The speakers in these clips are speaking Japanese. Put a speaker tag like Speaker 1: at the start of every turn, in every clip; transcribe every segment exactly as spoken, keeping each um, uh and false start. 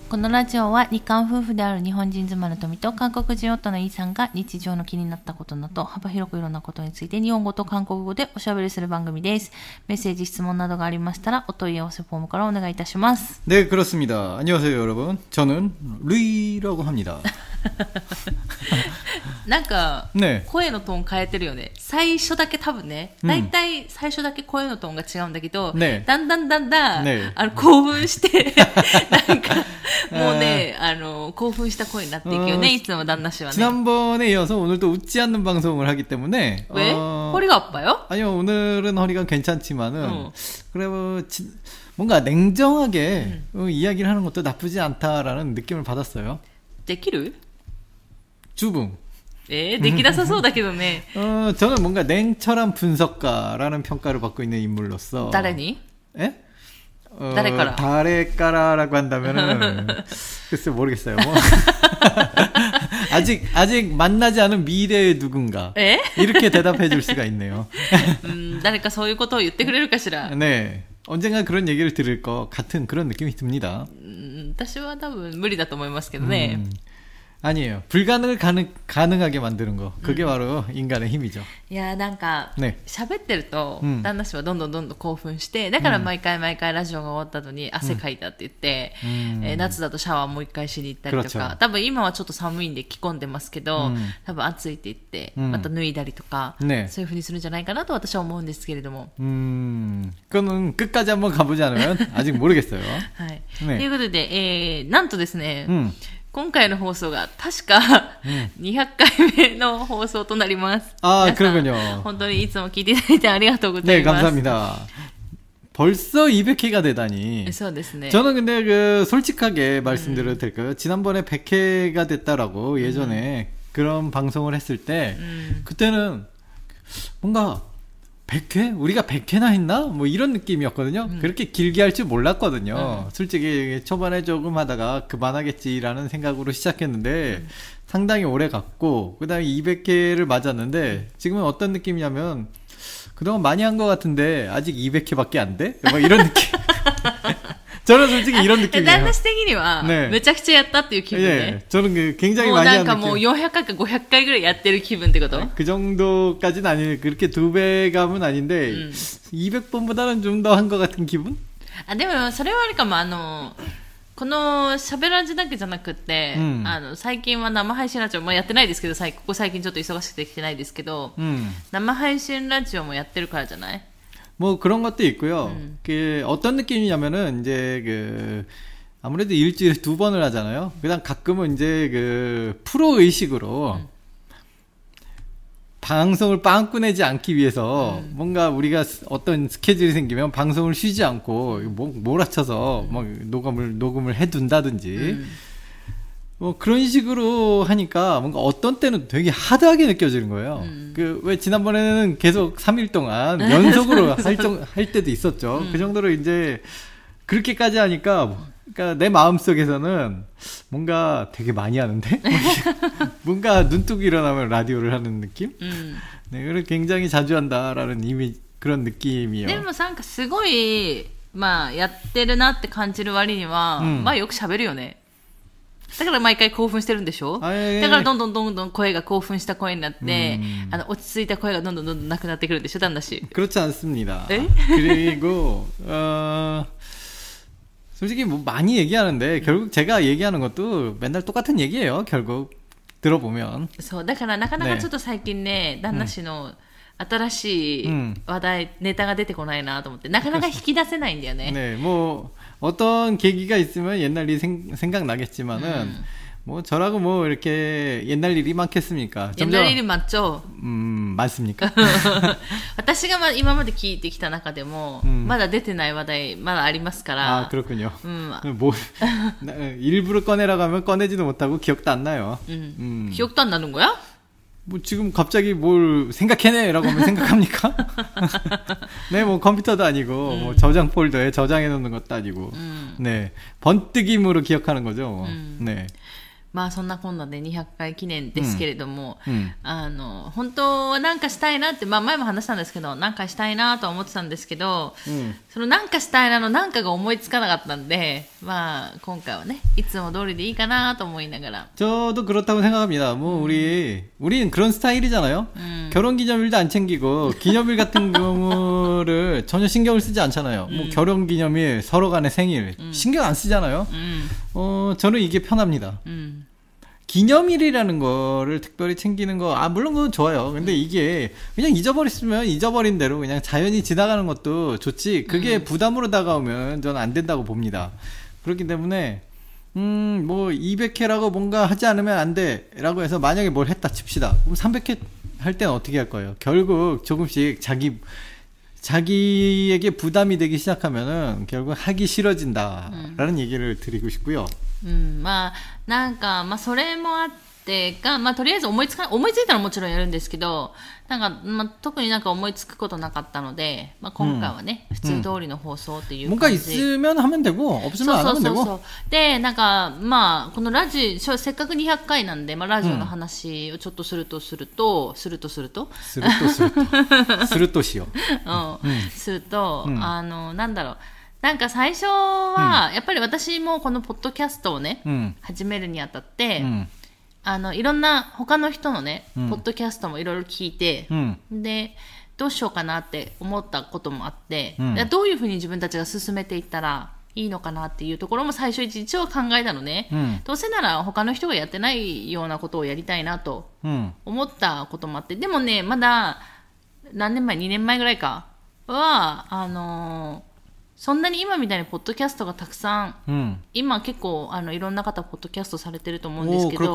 Speaker 1: このラジオは日韓夫婦である日本人妻の富と韓国人夫のイさんが日常の気になったことなど幅広くいろんなことについて日本語と韓国語でおしゃべりする番組です。メッセージ質問などがありましたらお問い合わせフォームからお願いいたします。
Speaker 2: 네, 그렇습니다. 안녕하세요, 여러분. 저는 루이라고 합니다.
Speaker 1: なんか、ね、声のトーン変えてるよね。最初だけ多分ね、だいたい最初だけ声のトーンが違うんだけど、ね、だんだんだんだん、ね、あの興奮してなんかもうね、あの興奮した声になっていくよね、いつも旦那氏はね。
Speaker 2: 지난번에 이어서 오늘도 웃지 않는 방송을 하기 때문에
Speaker 1: 왜? 어... 허리가 아파요?
Speaker 2: 아니요, 오늘은 허리가 괜찮지만은 어. 그래 뭐 지, 뭔가 냉정하게 음. 어, 이야기를 하는 것도 나쁘지 않다라는 느낌을 받았어요.
Speaker 1: できる?
Speaker 2: 주붕.
Speaker 1: 예, できなさそうだけどね.
Speaker 2: 어, 저는 뭔가 냉철한 분석가라는 평가를 받고 있는 인물로서.
Speaker 1: 誰に?
Speaker 2: 예? 어,
Speaker 1: 誰から?
Speaker 2: 誰から라고 한다면은 글쎄 모르겠어요. 뭐. 아직 아직 만나지 않은 미래의 누군가.
Speaker 1: 에?
Speaker 2: 이렇게 대답해 줄 수가 있네요.
Speaker 1: 음, 誰かそういうことを言ってくれるかしら.
Speaker 2: 네. 언젠가 그런 얘기를 들을 것 같은 그런 느낌이 듭니다.
Speaker 1: 음, 私は多分無理だと思いますけどね.
Speaker 2: 음. 아니에요. 불가능을 가능, 가능하게 만드는 거. 그게 음. 바로 인간의 힘이죠.
Speaker 1: いやなんか喋ってると旦那氏はどんどんどんどん興奮して、だから毎回毎回ラジオが終わった後に汗かいたって言って、うんえー、夏だとシャワーもう一回しに行ったりとか、多分今はちょっと寒いんで着込んでますけど、うん、多分暑いって言ってまた脱いだりとか、うん、そういう風にするんじゃないかなと私は思うんですけれども。
Speaker 2: 음, 그거는 끝까지 한번 가보지 않으면 아직 모르겠어요.
Speaker 1: はい。ということで、えー、なんとですね、うん今回の放送が確かにひゃっかいめの放送となります。
Speaker 2: あ、그렇군요。
Speaker 1: 本当にいつも聞いていただいてありがとうございます。
Speaker 2: 네, 감사합니다. 벌써 이백 회가 되다니.
Speaker 1: そうですね.
Speaker 2: 저는 근데 그 솔직하게 말씀드려도 될까요? 지난번에 백 회가 됐다라고 예전에 음. 그런 방송을 했을 때 음. 그때는 뭔가 백 회? 우리가 백 회나 했나? 뭐 이런 느낌이었거든요. 음. 그렇게 길게 할 줄 몰랐거든요. 음. 솔직히 초반에 조금 하다가 그만하겠지라는 생각으로 시작했는데 음. 상당히 오래 갔고 그 다음에 이백 회를 맞았는데 지금은 어떤 느낌이냐면 그동안 많이 한 것 같은데 아직 이백 회밖에 안 돼? 뭐 이런 느낌. 저는 솔직히 이런 느낌이에요.
Speaker 1: 旦那氏的にはめちゃくちゃやったっていう気分で。
Speaker 2: 저는 굉장히 많이 한 느낌.
Speaker 1: もうなんかもうよんひゃっかいかごひゃっかいぐらいやってる気分ってこと?
Speaker 2: 그 정도까지는 아니에요. 그렇게 두 배감은 아닌데 음. 이백 번보다는 좀 더 한 것 같은 기분?
Speaker 1: あ、でもそれはあれかも、あのこの喋らじだけじゃなくって、うん、あの最近は生配信ラジオもやってないですけど、ここ最近ちょっと忙しくてきてないですけど、うん、生配信ラジオもやってるからじゃない?
Speaker 2: 뭐 그런 것도 있고요. 음. 그 어떤 느낌이냐면은 이제 그 아무래도 일주일에 두 번을 하잖아요. 그다음 가끔은 이제 그 프로 의식으로 음. 방송을 빵꾸 내지 않기 위해서 음. 뭔가 우리가 어떤 스케줄이 생기면 방송을 쉬지 않고 몰아쳐서 음. 막 녹음을 녹음을 해둔다든지. 음. 뭐 그런 식으로 하니까 뭔가 어떤 때는 되게 하드하게 느껴지는 거예요. 음. 그 왜 지난번에는 계속 삼 일 동안 연속으로 할, 정, 할 때도 있었죠. 음. 그 정도로 이제 그렇게까지 하니까 그러니까 내 마음속에서는 뭔가 되게 많이 하는데 뭔가 눈뜨고 일어나면 라디오를 하는 느낌? 음. 네, 그걸 굉장히 자주 한다라는 이미 그런 느낌이요.
Speaker 1: でもなんかすごいまあやってるなって感じる割には、まあよく喋るよね。だから毎回興奮してるんでしょ？だからどんどんどんどん声が興奮した声になって、あの落ち着いた声がどんどんどんどんなくなってくるんでしょ、旦那氏。
Speaker 2: 그렇지 않습니다. 그리고 어, 솔직히 뭐 많이 얘기하는데 결국 제가 얘기하는 것도 맨날 똑같은 얘기예요. 결국 들어보면. そうだからなかなかちょっと最近ね、旦那氏の新しい話題、ネタが出てこないなと思ってなかなか引き出せないんだよね。 네, 뭐 어떤 계기가 있으면 옛날 일이 생, 생각나겠지만은 음. 뭐 저라고 뭐 이렇게 옛날 일이 많겠습니까?
Speaker 1: 옛날 일이 많죠.
Speaker 2: 음, 많습니까?
Speaker 1: 私が今まで聞いてきた中でも 음. まだ出てない話題まだありますから.
Speaker 2: 아, 그렇군요. 음. 뭐 일부러 꺼내라고 하면 꺼내지도 못하고 기억도 안 나요.
Speaker 1: 음. 음. 기억도 안 나는 거야?
Speaker 2: 뭐 지금 갑자기 뭘 생각해내라고 하면 생각합니까? 네, 뭐 컴퓨터도 아니고 음. 뭐 저장 폴더에 저장해 놓는 것도 아니고 음. 네, 번뜩임으로 기억하는 거죠. 음. 네.
Speaker 1: まあそんなこんなでにひゃっかい記念ですけれども、うん、あの本当はなんかしたいなって、まあ前も話したんですけど、なんかしたいなとは思ってたんですけど、うん、そのなんかしたいなのなんかが思いつかなかったんで、 まあ今回はねいつも通りでいいかなと思いながら
Speaker 2: 저도 그렇다고 생각합니다. 뭐 음. 우리 우리는 그런 스타일이잖아요. 음. 결혼기념일도 안 챙기고 기념일 같은 경우를 전혀 신경을 쓰지 않잖아요. 음. 뭐 결혼기념일, 서로 간의 생일 음. 신경 안 쓰잖아요. 음. 어 저는 이게 편합니다. 음. 기념일이라는 거를 특별히 챙기는 거, 아, 물론 그건 좋아요. 근데 이게 그냥 잊어버렸으면 잊어버린 대로 그냥 자연히 지나가는 것도 좋지, 그게 음. 부담으로 다가오면 저는 안 된다고 봅니다. 그렇기 때문에, 음, 뭐, 이백 회라고 뭔가 하지 않으면 안 돼. 라고 해서 만약에 뭘 했다 칩시다. 그럼 삼백 회 할 때는 어떻게 할 거예요? 결국 조금씩 자기, 자기에게 부담이 되기 시작하면은 결국 하기 싫어진다라는 음. 얘기를 드리고 싶고요.
Speaker 1: うん、まあなんかまあそれもあってか、まあとりあえず思いつか思いついたらもちろんやるんですけど、なんかまあ特になんか思いつくことなかったので、まあ今回はね、うん、普通通りの放送っていう感じ。
Speaker 2: 뭔가 있으면 하면 되고 없으면 안 하면 되고。そうそうそう。
Speaker 1: でなんかまあこのラジオせっかくにひゃっかいなんで、まあラジオの話をちょっとするとすると、するとすると、
Speaker 2: するとすると、するとしよう。
Speaker 1: うん、すると、うん、あのなんだろう。なんか最初は、うん、やっぱり私もこのポッドキャストをね、うん、始めるにあたって、うん、あのいろんな他の人のね、うん、ポッドキャストもいろいろ聞いて、うん、でどうしようかなって思ったこともあって、うん、どういうふうに自分たちが進めていったらいいのかなっていうところも最初一応考えたのね、うん、どうせなら他の人がやってないようなことをやりたいなと思ったこともあって、でもねまだ何年前にねんまえぐらいかはあのーそんなに今みたいにポッドキャストがたくさん、うん、今結構あのいろんな方ポッドキャストされてると思うんですけど、うん、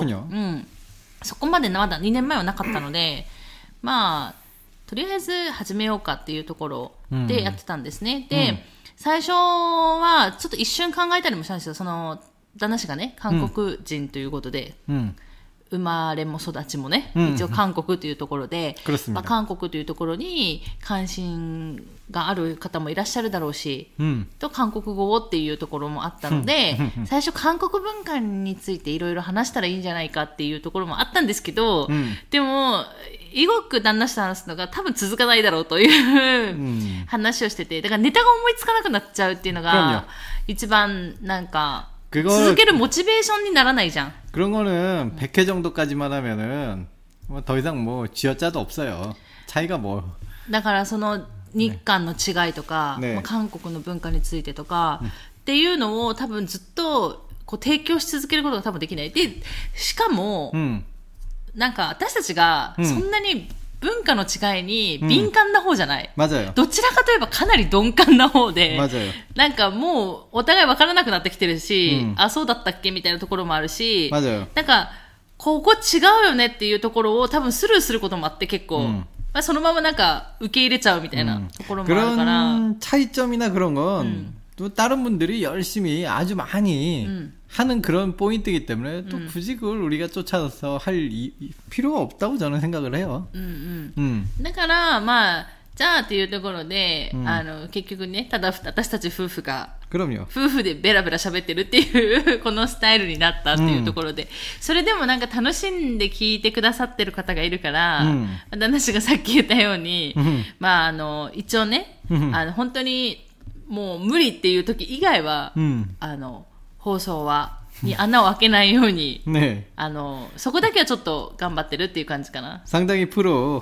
Speaker 1: そこまでまだにねんまえはなかったのでまあとりあえず始めようかっていうところでやってたんですね、うん、で、うん、最初はちょっと一瞬考えたりもしたんですよ。その旦那氏がね韓国人ということで、うんうん生まれも育ちもね、うん、一応韓国というところで、まあ、韓国というところに関心がある方もいらっしゃるだろうし、うん、と韓国語っていうところもあったので、うん、最初韓国文化についていろいろ話したらいいんじゃないかっていうところもあったんですけど、うん、でもイゴック旦那氏と話すのが多分続かないだろうという話をしてて、だからネタが思いつかなくなっちゃうっていうのが一番なんか続けるモチベーションにならないじゃん。
Speaker 2: 그런 거는 백 회 정도까지만 하면은 뭐 더 이상 뭐 쥐어짜도 없어요. 차이가 뭐.
Speaker 1: だからその日韓の違いとか、ね、韓国の文化についてとか、ね、っていうのを多分ずっとこう提供し続けることが多分できない。で、しかも、うん、なんか私たちがそんなに文化の違いに敏感な方じゃない。
Speaker 2: うん、맞아요。
Speaker 1: どちらかといえばかなり鈍感な方で、
Speaker 2: 맞아요。
Speaker 1: なんかもうお互い分からなくなってきてるし、うん、あ、そうだったっけみたいなところもあるし、
Speaker 2: 맞아요。
Speaker 1: なんかここ違うよねっていうところを多分スルーすることもあって結構、うん、まあ、そのままなんか受け入れちゃうみたいなところもあるから。
Speaker 2: 그런 차이점이나 그런 건、うん、또 다른 분들이 열심히 아주 많이、うん、하는 그런 포인트이기 때문에 또 음. 굳이 그걸 우리가 쫓아서 할 이, 이, 필요가 없다고 저는 생각을 해요.
Speaker 1: 음, 음. 음. だからまあじゃあっていうところで、うん、あの結局ねただ私たち夫婦が
Speaker 2: 그럼요.
Speaker 1: 夫婦でベラベラ喋ってるっていうこのスタイルになったっていうところで、うん、それでもなんか楽しんで聞いてくださってる方がいるから、うん、旦那氏がさっき言ったように、うん、まああの一応ね、うん、あの本当にもう無理っていう時以外は、うん、あの放送はに穴を開けないように、ね、あのそこだけはちょっと頑張ってるっていう感じかな。
Speaker 2: 상당히 프로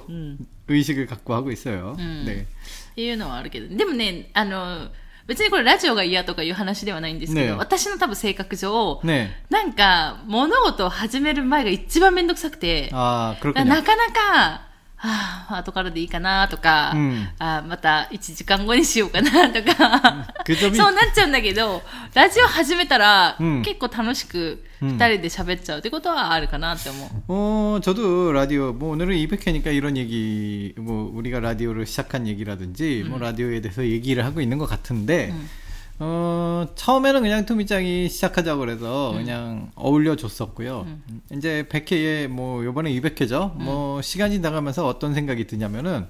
Speaker 2: 의식을 갖고 하고 있어요.
Speaker 1: ね、っていうのはあるけど、でもねあの別にこれラジオが嫌とかいう話ではないんですけど、ね、私の多分性格上、ね、なんか物事を始める前が一番めんどくさくて、
Speaker 2: あー、
Speaker 1: なかなかはあ、後からでいいかなとか、うん、あまたいちじかんごにしようかなとか、うん、そうなっちゃうんだけど、ラジオ始めたら、うん、結構楽しくふたりで喋っちゃうってことはあるかなって思う。
Speaker 2: 어, 저도 라디오, 뭐 오늘은 이백 회니까 이런 얘기, 뭐 우리가 라디오를 시작한 얘기라든지, 음. 뭐 라디오에 대해서 얘기를 하고 있는 것 같은데, 음. 어, 처음에는 그냥 투미짱이 시작하자고 그래서 음. 그냥 어울려줬었고요. 음. 이제 백 회에 뭐 요번에 이백 회죠. 음. 뭐 시간이 나가면서 어떤 생각이 드냐면은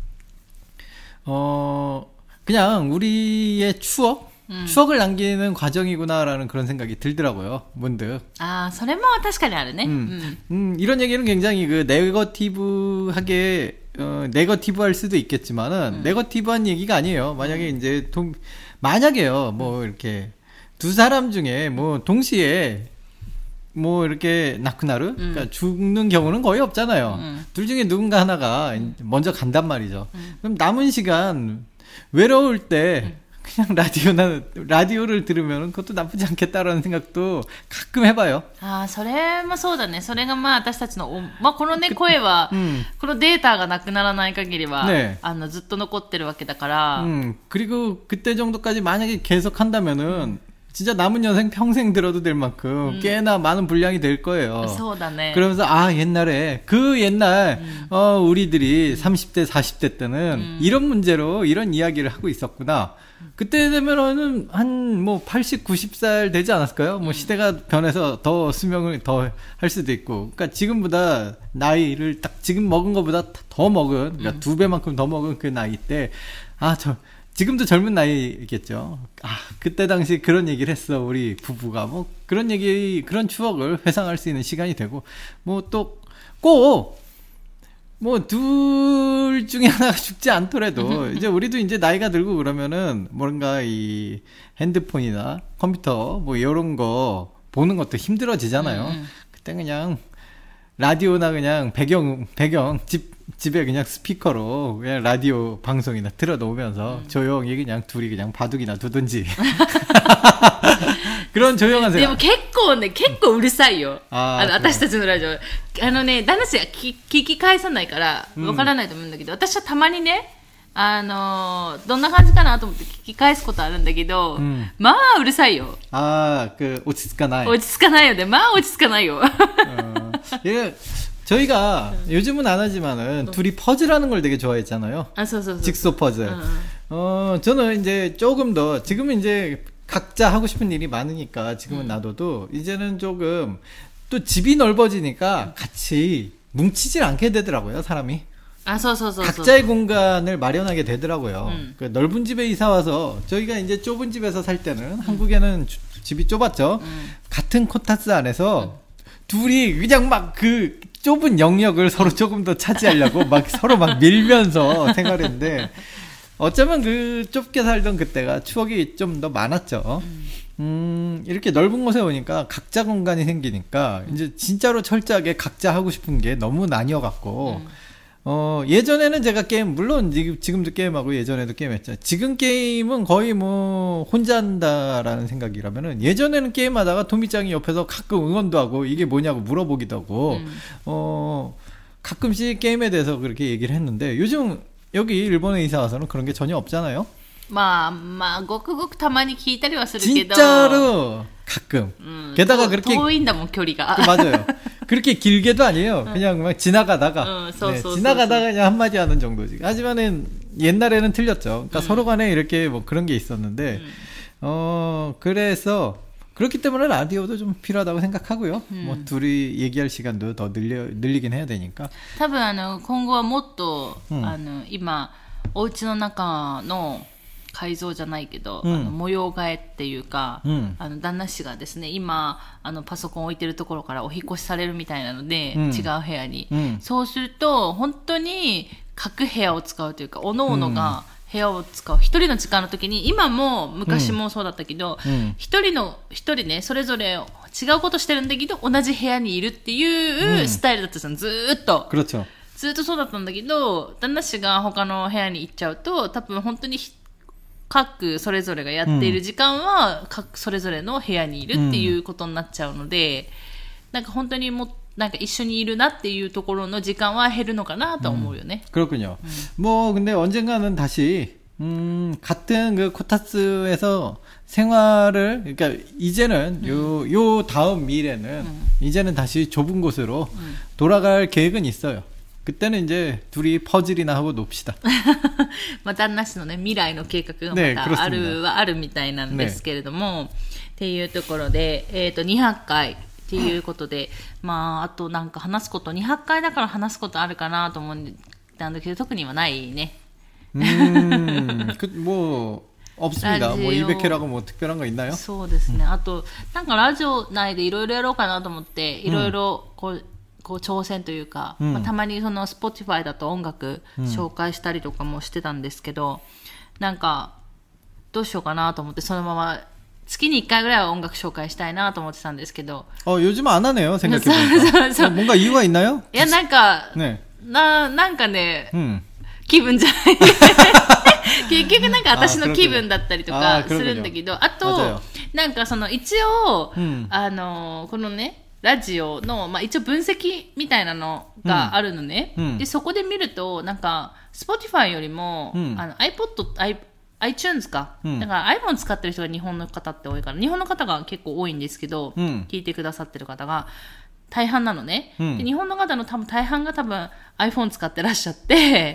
Speaker 2: 어, 그냥 우리의 추억? 음. 추억을 남기는 과정이구나라는 그런 생각이 들더라고요. 문득.
Speaker 1: 아, それも確かにあるね.
Speaker 2: 음. 음. 음, 이런 얘기는 굉장히 그 네거티브하게 어, 네거티브할 수도 있겠지만은 음. 네거티브한 얘기가 아니에요. 만약에 음. 이제 동 만약에요, 뭐, 이렇게, 두 사람 중에 뭐 동시에 뭐 이렇게 나쿠나르, 음. 그러니까 죽는 경우는 거의 없잖아요. 음. 둘 중에 누군가 하나가 먼저 간단 말이죠. 음. 그럼 남은 시간 외로울 때 음. 그냥 라디오나 라디오를 들으면 그것도 나쁘지 않겠다라는 생각도 가끔 해봐요.
Speaker 1: 아, それもそうだね。それがまあ私たちのまあこのね声はこのデータがなくならない限りはあのずっと残ってるわけだから。
Speaker 2: 음, 그리고 그때 정도까지 만약에 계속 한다면은 진짜 남은 여생 평생 들어도 될 만큼 음. 꽤나 많은 분량이 될 거예요.
Speaker 1: そうだね.
Speaker 2: 그러면서 아 옛날에 그 옛날 음. 어 우리들이 음. 삼십 대 사십 대 때는 음. 이런 문제로 이런 이야기를 하고 있었구나. 그때 되면은 한 뭐 팔십, 구십 살 되지 않았을까요? 뭐 시대가 변해서 더 수명을 더 할 수도 있고. 그러니까 지금보다 나이를 딱 지금 먹은 것보다 더 먹은, 그러니까 음. 두 배만큼 더 먹은 그 나이 때, 아, 저 지금도 젊은 나이겠죠. 아, 그때 당시 그런 얘기를 했어 우리 부부가. 뭐 그런 얘기, 그런 추억을 회상할 수 있는 시간이 되고, 뭐 또 꼭 뭐 둘 중에 하나가 죽지 않더라도 이제 우리도 이제 나이가 들고 그러면은 뭔가 이 핸드폰이나 컴퓨터 뭐 이런 거 보는 것도 힘들어지잖아요. 음. 그때 그냥 라디오나 그냥 배경 배경 집 집에 그냥 스피커로 그냥 라디오 방송이나 틀어놓으면서 음. 조용히 그냥 둘이 그냥 바둑이나 두든지 그런 조용한 생각.
Speaker 1: でも結構ね、結構うるさいよ。ああの私たちのラジオ。あのね、旦那氏が聞き返さないからわからないと思うんだけど、うん、私はたまにね、あのどんな感じかなと思って聞き返すことあるんだけど、うん、まあうるさいよ。
Speaker 2: ああ、그落ち着かない。
Speaker 1: 落ち着かないよね。まあ落ち着かないよ。
Speaker 2: 예. 저희가 응. 요즘은 안 하지만은 응. 둘이 퍼즐하는 걸 되게 좋아했잖아요.
Speaker 1: 아, 소, 소, 소.
Speaker 2: 직소 퍼즐. 응. 어, 저는 이제 조금 더 지금은 이제 각자 하고 싶은 일이 많으니까 지금은 응. 놔둬도 이제는 조금 또 집이 넓어지니까 같이 뭉치질 않게 되더라고요, 사람이.
Speaker 1: 아, 소, 소, 소,
Speaker 2: 각자의 소. 공간을 마련하게 되더라고요. 응. 그 넓은 집에 이사 와서 저희가 이제 좁은 집에서 살 때는 응. 한국에는 주, 집이 좁았죠. 응. 같은 코타스 안에서 둘이 그냥 막 그 좁은 영역을 서로 조금 더 차지하려고 막 서로 막 밀면서 생활했는데 어쩌면 그 좁게 살던 그때가 추억이 좀 더 많았죠. 음, 이렇게 넓은 곳에 오니까 각자 공간이 생기니까 이제 진짜로 철저하게 각자 하고 싶은 게 너무 나뉘어갖고 어, 예전에는 제가 게임, 물론 지금도 게임하고 예전에도 게임했죠. 지금 게임은 거의 뭐 혼자 한다라는 생각이라면은 예전에는 게임하다가 토미짱이 옆에서 가끔 응원도 하고 이게 뭐냐고 물어보기도 하고 음. 어, 가끔씩 게임에 대해서 그렇게 얘기를 했는데 요즘 여기 일본에 이사 와서는 그런 게 전혀 없잖아요.
Speaker 1: まあまあごくごくたまに聞いたりはするけど
Speaker 2: 진짜로 가끔
Speaker 1: 음,
Speaker 2: 게다가 그렇게
Speaker 1: 遠いんだもん距離が
Speaker 2: 맞아요. 그렇게 길게도 아니에요. 그냥 막 지나가다가
Speaker 1: 음, 소,
Speaker 2: 네,
Speaker 1: 소,
Speaker 2: 지나가다가
Speaker 1: 소, 소.
Speaker 2: 그냥 한마디 하는 정도지. 하지만은 옛날에는 틀렸죠. 그러니까 음. 서로 간에 이렇게 뭐 그런 게 있었는데 음. 어 그래서 그렇기 때문에 라디오도 좀 필요하다고 생각하고요. 음. 뭐 둘이 얘기할 시간도 더 늘려 늘리긴 해야 되니까.
Speaker 1: 多分あの今後はもっとあの今お家の中の改造じゃないけど、うん、あの模様替えっていうか、うん、あの旦那氏がですね今あのパソコン置いてるところからお引越しされるみたいなので、うん、違う部屋に、うん、そうすると本当に各部屋を使うというか各々が部屋を使う一人の時間の時に今も昔もそうだったけど一、うん、人の一人ねそれぞれ違うことしてるんだけど同じ部屋にいるっていうスタイルだったじゃんずーっと。
Speaker 2: 그렇죠。
Speaker 1: ずっとそうだったんだけど旦那氏が他の部屋に行っちゃうと多分本当に各それぞれがやっている時間は、うん、各それぞれの部屋にいるっていうことになっちゃうので、うん、なんか本当にもなんか一緒にいるなっていうところの時間は減るのかなと思うよね。
Speaker 2: 음, 그렇군요. 음. 뭐 근데 언젠가는 다시 음, 같은 그 코타츠에서 생활을 그러니까 이제는 음. 요, 요 다음 미래는 음. 이제는 다시 좁은 곳으로 음. 돌아갈 계획은 있어요. 그때는 이제 둘이 퍼즐이나 하고 놉시다.
Speaker 1: まあ旦那氏のね未来の計画がまたあるはあるみたいなんですけれども、ね、っていうところでえっとにひゃっかいっていうことで、まああとなんか話すことにひゃっかいだから話すことあるかなと思ったんだけど特にはないね。
Speaker 2: うん、뭐 없습니다. 뭐 이백회라고 뭐 특별한 거 있나요?
Speaker 1: そうですね。あとなんかラジオ内でいろいろやろうかなと思っていろいろこう。こう挑戦というか、うんまあ、たまにその Spotify だと音楽紹介したりとかもしてたんですけど、うん、なんかどうしようかなと思ってそのまま月にいっかいぐらいは音楽紹介したいなと思ってたんですけど。
Speaker 2: 어 요즘 안 하네요. 생각해보니까. 뭔가 이유가 있나요?
Speaker 1: いやなんか、ね、ななんかね、うん、気分じゃない。結局なんか私の気分だったりとかするんだけど、あとなんかその一応、うん、あのこのねラジオのまあ一応分析みたいなのがあるのね。うん、でそこで見るとなんか Spotify よりも、うん、あの iPod、iTunes か、うん、だから iPhone 使ってる人が日本の方って多いから、日本の方が結構多いんですけど、うん、聞いてくださってる方が大半なのね、うん、で日本の方の多分大半が多分 iPhone 使ってらっしゃって、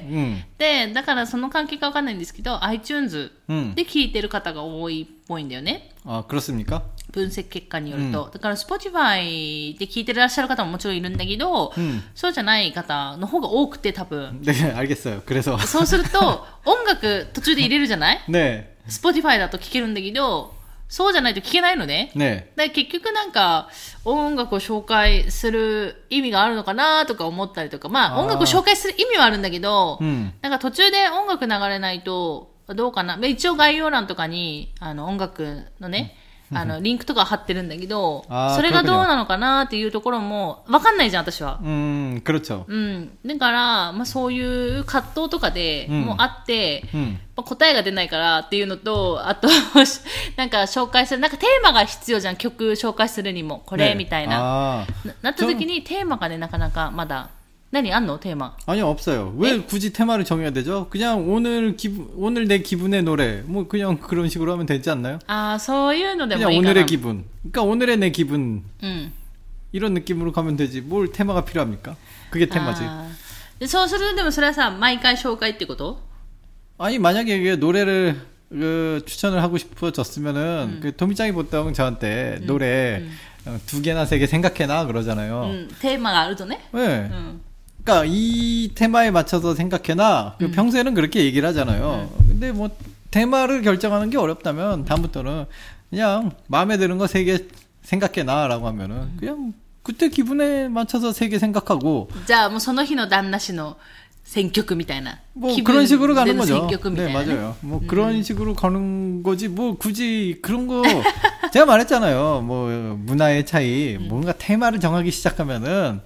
Speaker 1: うん、でだからその関係か分かんないんですけど iTunes で聞いてる方が多いっぽいんだよね。
Speaker 2: あ、그렇습니까？
Speaker 1: 分析結果によると、うん、だから Spotify で聞いてらっしゃる方ももちろんいるんだけど、うん、そうじゃない方の方が多くて多分。
Speaker 2: ね、알겠어요。그래서
Speaker 1: そうすると音楽途中で入れるじゃない？
Speaker 2: ね。
Speaker 1: Spotify だと聞けるんだけど、そうじゃないと聞けないのね。
Speaker 2: ね。
Speaker 1: だから結局なんか音楽を紹介する意味があるのかなとか思ったりとか、まあ音楽を紹介する意味はあるんだけど、うん、なんか途中で音楽流れないとどうかな。一応概要欄とかにあの音楽のね、うん、あのリンクとか貼ってるんだけど、それがどうなのかなっていうところも分かんないじゃん私は。
Speaker 2: うん、그렇죠。
Speaker 1: うん。だからまあそういう葛藤とかでもあって、うんうんまあ、答えが出ないからっていうのと、あとなんか紹介するなんかテーマが必要じゃん、曲紹介するにもこれ、ね、みたいな な, なった時にテーマがねなかなかまだ。何あんのテーマ?
Speaker 2: 아니요 없어요. 왜 굳이 테마를 정해야 되죠? 그냥 오늘 기분 오늘 내 기분의 노래 뭐 그냥 그런 식으로 하면 되지 않나요?
Speaker 1: 아, そういうのでもいいかな.
Speaker 2: 그냥 오늘의 기분. 그러니까 오늘의 내 기분. 음. 이런 느낌으로 가면 되지. 뭘 테마가 필요합니까? 그게 테마지.
Speaker 1: 아, そうするでもそれはさ毎回紹介ってこと?
Speaker 2: 아니 만약에 이게 노래를 그 추천을 하고 싶어졌으면은 음. 그 도미짱이 보통 저한테 음. 노래 음. 두 개나 세 개 생각해놔 그러잖아요.
Speaker 1: 음, 테마가 알죠,네?
Speaker 2: 네. 음. 그러니까 이 테마에 맞춰서 생각해놔. 음. 평소에는 그렇게 얘기를 하잖아요. 음. 근데 뭐 테마를 결정하는 게 어렵다면 다음부터는 그냥 마음에 드는 거 세 개 생각해놔라고 하면은 음. 그냥 그때 기분에 맞춰서 세 개 생각하고.
Speaker 1: 자, 뭐その日の旦那氏の選曲みたいな.
Speaker 2: 뭐 그런 식으로 가는 거죠. 네, 맞아요. 뭐 음. 그런 식으로 가는 거지. 뭐 굳이 그런 거 제가 말했잖아요. 뭐 문화의 차이. 음. 뭔가 테마를 정하기 시작하면은.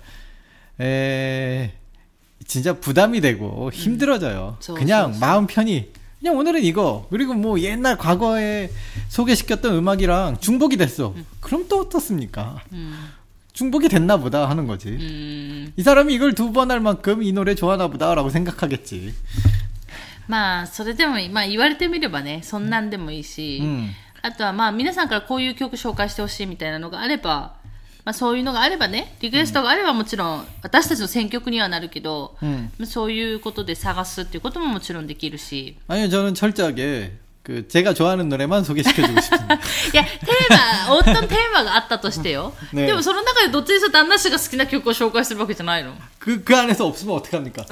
Speaker 2: 에, 진짜 부담이 되고 힘들어져요. 음. 그냥 저, 저. 마음 편히 그냥 오늘은 이거 그리고 뭐 옛날 과거에 소개시켰던 음악이랑 중복이 됐어. 음. 그럼 또 어떻습니까? 음. 중복이 됐나 보다 하는 거지. 음. 이 사람이 이걸 두 번 할 만큼 이 노래 좋아하나 보다라고 생각하겠지.
Speaker 1: まあそれでもまあ言われてみればねそんなんでもいいし、うん、あとはまあ皆さんからこういう曲紹介してほしいみたいなのがあれば。まあ、そういうのがあればね、リクエストがあればもちろん私たちの選曲にはなるけど、うん、そういうことで探すっていうことももちろんできるし。
Speaker 2: 아니요、저는 철저하게 그 제가 좋아하는 노래만 소개시켜주고 싶습니다.
Speaker 1: いや、テーマ、어떤テーマがあったとしてよ。ね、でもその中でどっちにしろ旦那氏が好きな曲を紹介するわけじゃないの?
Speaker 2: 그, 그 안에서 없으면 어떡합니까?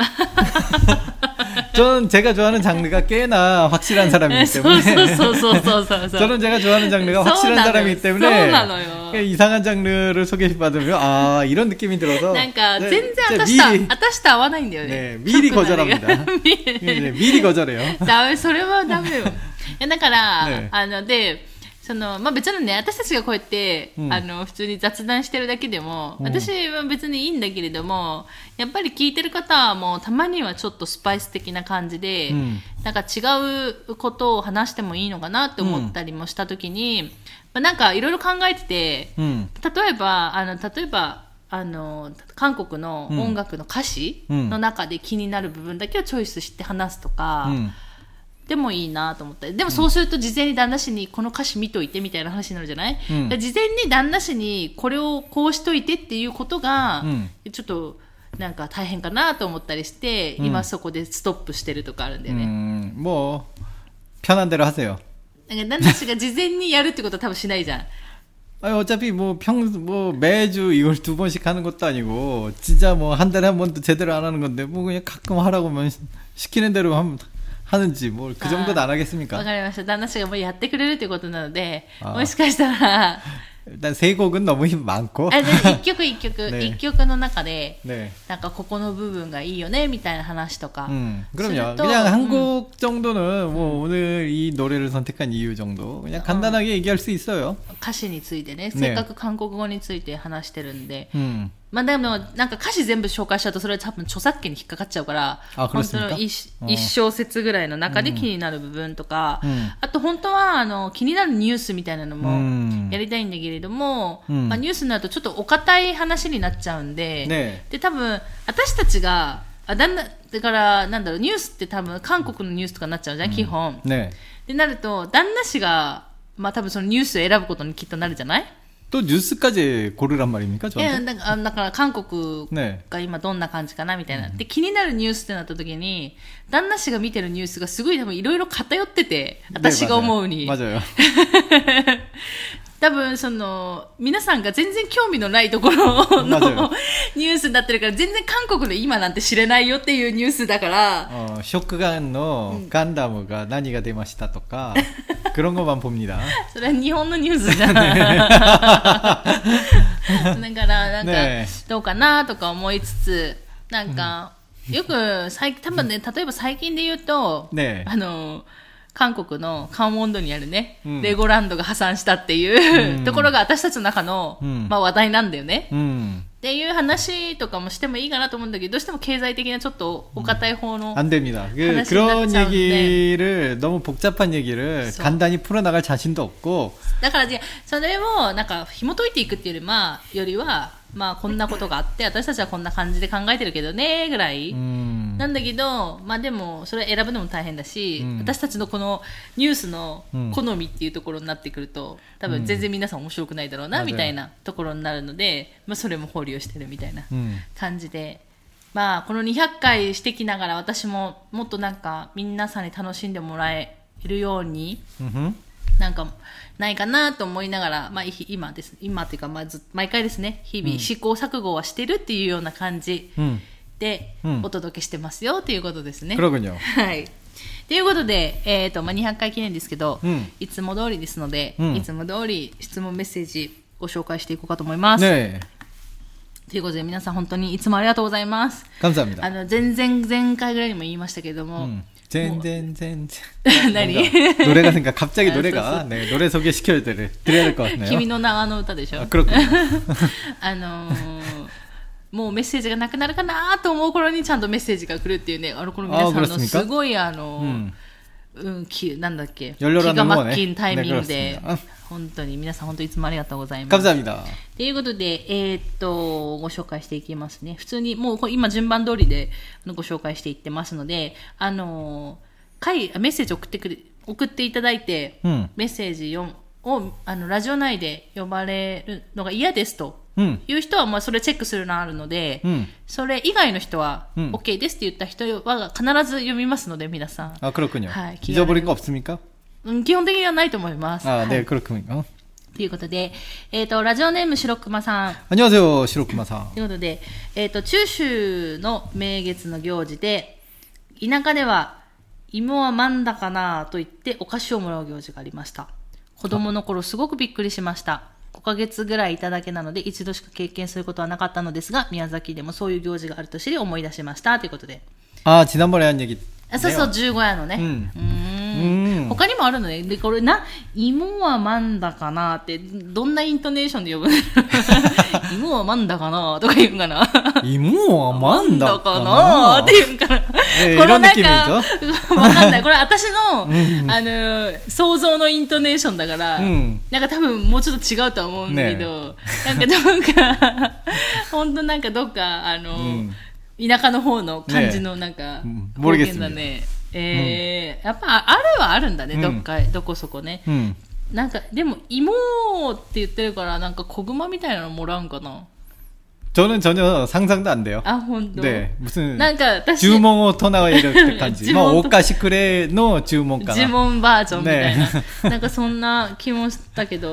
Speaker 2: 저는 제가 좋아하는 장르가 꽤나 확실한 사람이기 때문에 저는 제가 좋아하는 장르가 확실한 사람이기 때문에 이상한 장르를 소개받으면 아 이런 느낌이 들어서
Speaker 1: なんか全然私と私と合わないんだよね.
Speaker 2: 네, 미리 거절합니다. 네, 미리 거절해요.
Speaker 1: ダメ、それはダメよ。だから、ね、あのでそのまあ、別にね私たちがこうやって、うん、あの普通に雑談してるだけでも、うん、私は別にいいんだけれどもやっぱり聞いてる方もたまにはちょっとスパイス的な感じで、うん、なんか違うことを話してもいいのかなって思ったりもした時に、うんまあ、なんかいろいろ考えてて、うん、例えばあの例えばあの韓国の音楽の歌詞の中で気になる部分だけをチョイスして話すとか、うんでもいいなと思った。でもそうすると事前に旦那氏にこの歌詞見といてみたいな話になるじゃない、うん、事前に旦那氏にこれをこうしといてっていうことが、うん、ちょっとなんか大変かなと思ったりして、うん、今そこでストップしてるとかあるんだよね。
Speaker 2: うんもう편한 대로 하세요。
Speaker 1: なんか旦那氏が事前にやるってことは多分しないじゃん。
Speaker 2: 아니, 어차피 뭐 평, 뭐 매주 이걸 두 번씩 하는 것도 아니고 진짜 뭐 한 달에 한 번도 제대로 안 하는 건데 뭐 그냥 가끔 하라고 하면 시키는 대로 하면 하는지 뭐 그 정도도 안 하겠습니까?
Speaker 1: わかりました。旦那氏がもうやってくれるということなので、もしかしたら
Speaker 2: 일단 세 곡은 너무 힘 많고.
Speaker 1: あ、で一曲一曲、네. 一曲の中で、네. なんかここの部分がいいよねみたいな話とか。
Speaker 2: 음, 그럼요. 그냥 한 곡 정도는 뭐 음. 오늘 이 노래를 선택한 이유 정도 그냥 간단하게 어. 얘기할 수 있어요.
Speaker 1: 歌詞についてね、せっかく韓国語について話してるんで。음. まあでもなんか歌詞全部紹介しちゃうとそれは多分著作権に引っかかっちゃうから、
Speaker 2: あ、
Speaker 1: 本当の 一, 一小節ぐらいの中で気になる部分とか、うん、あと本当はあの気になるニュースみたいなのもやりたいんだけれども、うん、まあ、ニュースになるとちょっとお堅い話になっちゃうんで、ね、で多分私たちがあだんだだからなんだろうニュースって多分韓国のニュースとかになっちゃうじゃん、うん、基本、ね、でなると旦那氏がまあ多分そのニュースを選ぶことにきっとなるじゃない。
Speaker 2: 또 뉴스까지 고르란 말입니까?
Speaker 1: 예, 그러니까 한국が今どんな感じかなみたいな。で気になるニュースってなった時に旦那氏が見てるニュースがすごい多分いろいろ偏ってて、私が思うに。
Speaker 2: 맞아요.
Speaker 1: 多分その皆さんが全然興味のないところのニュースになってるから全然韓国の今なんて知れないよっていうニュースだから。
Speaker 2: 어, 쇼크간のガンダムが何が出ましたとか그런 것만 봅니다.
Speaker 1: それは日本のニュースじゃない。だからなんかどうかなとか思いつつなんかよく最多分ね例えば最近で言うと、ね、あの。韓国のカンウォンドにあるね、うん、レゴランドが破産したっていう、うん、ところが私たちの中の、うん、まあ話題なんだよね、うん、っていう話とかもしてもいいかなと思うんだけどどうしても経済的なちょっとお堅い方の話になっちゃうんで、
Speaker 2: 음, 그런 얘기를 너무 복잡한 얘기를 간단히 풀어나갈 자신도 없고
Speaker 1: だからそれをなんか紐解いていくっていうよりまあよりはまあこんなことがあって私たちはこんな感じで考えてるけどねぐらいなんだけどまあでもそれ選ぶのも大変だし、うん、私たちのこのニュースの好みっていうところになってくると多分全然皆さん面白くないだろうなみたいなところになるので、まあ、それも保留してるみたいな感じで、まあこのにひゃっかいしてきながら私ももっとなんか皆さんに楽しんでもらえるように、うんなんかないかなと思いながら、まあ、今です。今っていうか、まあ、ず毎回ですね、日々試行錯誤はしてるっていうような感じでお届けしてますよっていうことですね。
Speaker 2: 그러군요。
Speaker 1: はい。ということで、えっと、まあ、にひゃっかい記念ですけど、うん、いつも通りですので、うん、いつも通り質問メッセージご紹介していこうかと思います。ねということで皆さん本当にいつもありがとうございます。
Speaker 2: 감사합니다。
Speaker 1: あの、前々前回ぐらいにも言いましたけれども、うん
Speaker 2: 芋はまんだかなと言ってお菓子をもらう行事がありました。子供の頃すごくびっくりしました。ごかげつぐらいいただけなので一度しか経験することはなかったのですが、宮崎でもそういう行事があると知り思い出しましたということで。あ、지난번에 한 얘기。そうそう、じゅうごやのね。うん。うん他にもあるのね。で、これな、芋はまんだかなって、どんなイントネーションで呼ぶの芋はまんだかなとか言うんかな芋はまんだかなって言うんかな、えー、このなんか、わかんない。これ私の、あの、想像のイントネーションだから、うん、なんか多分もうちょっと違うとは思うんだけど、ね、なんかどっか、ほんとなんかどっか、あの、うん田舎の方の感じのなんか方言だね。えー、やっぱあるはあるんだね、どっか、どこそこね。なんかでも芋って言ってるからなんか小熊みたいなのもらうんかな。저는전혀상상도안돼요。あ、本当。ね、무슨なんか私注文を唱えるって感じ。もうお菓子くれの注文かな。呪文バージョンみたいな。なんかそんな気もしたけど。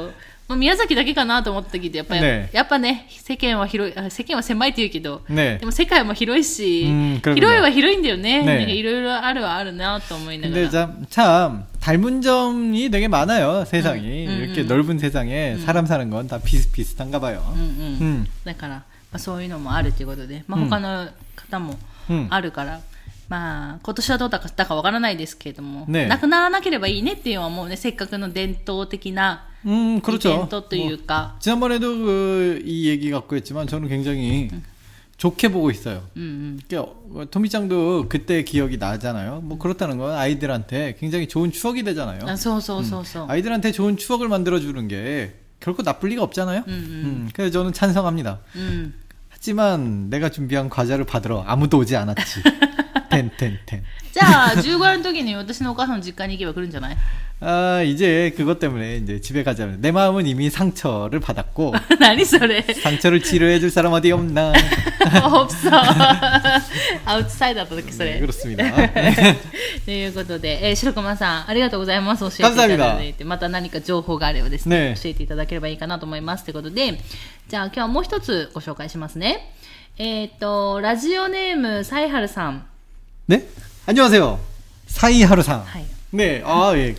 Speaker 1: まあ、宮崎だけかなと思ったけど、やっぱり、
Speaker 2: ね、
Speaker 1: やっぱね、世間は広い、世間は狭いって言うけど、
Speaker 2: ね、
Speaker 1: でも世界も広いし、広いは広いんだよね。ね、いろいろあるはあるなと思いながら。
Speaker 2: 근데 참, 참 닮은 점이 되게 많아요. 세상이. 음, 음, 이렇게 음. 넓은 세상에 음. 사람 사는 건 다 비슷비슷한가 봐요.
Speaker 1: 음, 음. 음. だから、まあ、そういうのもあるということで、まあ、他の方もあるから、うん、まあ、今年はどうだったかわからないですけれども、ね、なくならなければいいねっていうのはもうね、せっかくの伝統的なイベントというか。
Speaker 2: 음, 지난번에도 그, 이 얘기 갖고 했지만 저는 굉장히 음. 좋게 보고 있어요. 음, 음. 그러니까 토미짱도 그때 기억이 나잖아요. 뭐 그렇다는 건 아이들한테 굉장히 좋은 추억이 되잖아요.
Speaker 1: 아, so, so, so, so.
Speaker 2: 음. 아이들한테 좋은 추억을 만들어주는 게 결코 나쁠 리가 없잖아요. 음, 음. 음, 그래서 저는 찬성합니다. 음. 하지만 내가 준비한 과자를 받으러 아무도 오지 않았지. 텐, 텐, 텐.
Speaker 1: じゃあじゅうごの時に私のお母さんの実家に行けば来るんじゃない?
Speaker 2: 아, 이제 그것 때문에 이제 집에 가자면 내 마음은 이미 상처를 받았고.
Speaker 1: 何それ?
Speaker 2: 상처를 치료해 줄 사람 어디 없나?
Speaker 1: 없어. アウトサイダーだった時それ.
Speaker 2: 네, 그렇습니다.
Speaker 1: ということで、えー、白駒さんありがとうございます。教えていただいて、また何か情報があればですね、教えていただければいいかなと思いますということで、じゃあ今日はもう一つご紹介しますね。えっとラジオネームサイハルさん。
Speaker 2: 네? 안녕하세요. 사이하루상. 네, 아, 예.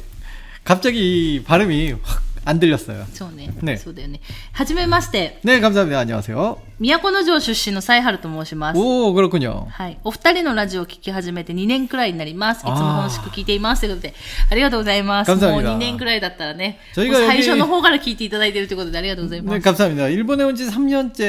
Speaker 2: 갑자기 발음이 확 안 들렸어요.
Speaker 1: そうね。ね。そうだよね。はじめまして。
Speaker 2: 네, 감사합니다. 안녕하세요.
Speaker 1: 都城出身のサイハルと申します。
Speaker 2: 오, 그렇군요.
Speaker 1: はい。お二人のラジオを聞き始めてにねんくらいになります。いつも楽しく聞いています。ということで、ありがとうございます。
Speaker 2: 감사합니다.
Speaker 1: もうにねんくらいだったらね、最初の方から聞いていただいているということでありがとうございます。
Speaker 2: 네, 감사합니다. 일본에 온 지 삼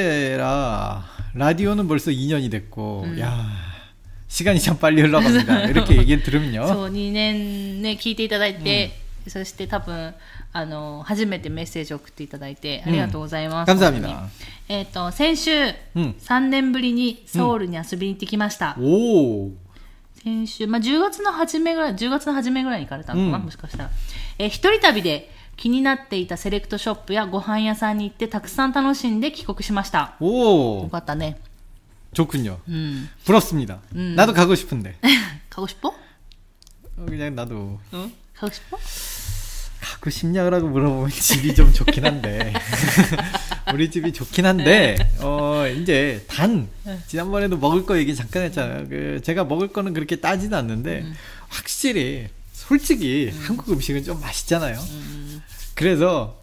Speaker 2: 년째라 라디오는 벌써 이 년이 됐고, 음. 야. 시간이 참 빨리 흘러갑니다. 이렇게 얘기를 들으면요.
Speaker 1: そう、にねんね、聞いていただいて、うん、そして多分、あの、初めてメッセージを送っていただいて、ありがとうございます。
Speaker 2: うん、감사합니다。
Speaker 1: えっと、先週、うん、さんねんぶりにソウルに遊びに行ってきました。
Speaker 2: うん、おー。
Speaker 1: 先週、まあ、じゅうがつの初めぐらい、じゅうがつの初めぐらいに行かれたのかな、うん、もしかしたら。えー、一人旅で気になっていたセレクトショップやご飯屋さんに行ってたくさん楽しんで帰国しました。
Speaker 2: おー。
Speaker 1: よかったね。
Speaker 2: 좋군요. 음. 부럽습니다. 음. 나도 가고 싶은데.
Speaker 1: 가고 싶어?
Speaker 2: 그냥 나도.
Speaker 1: 어? 가고 싶어?
Speaker 2: 가고 싶냐고 물어보면 집이 좀 좋긴 한데. 우리 집이 좋긴 한데, 어, 이제 단, 지난번에도 먹을 거 얘기 잠깐 했잖아요. 그, 제가 먹을 거는 그렇게 따지는 않는데, 음. 확실히, 솔직히 음. 한국 음식은 좀 맛있잖아요. 음. 그래서